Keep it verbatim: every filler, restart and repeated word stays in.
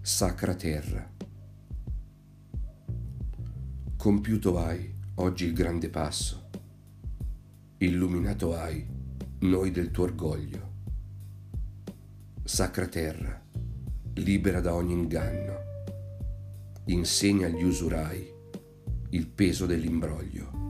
Sacra terra. Compiuto hai oggi il grande passo, illuminato hai noi del tuo orgoglio. Sacra terra, libera da ogni inganno, insegna agli usurai il peso dell'imbroglio.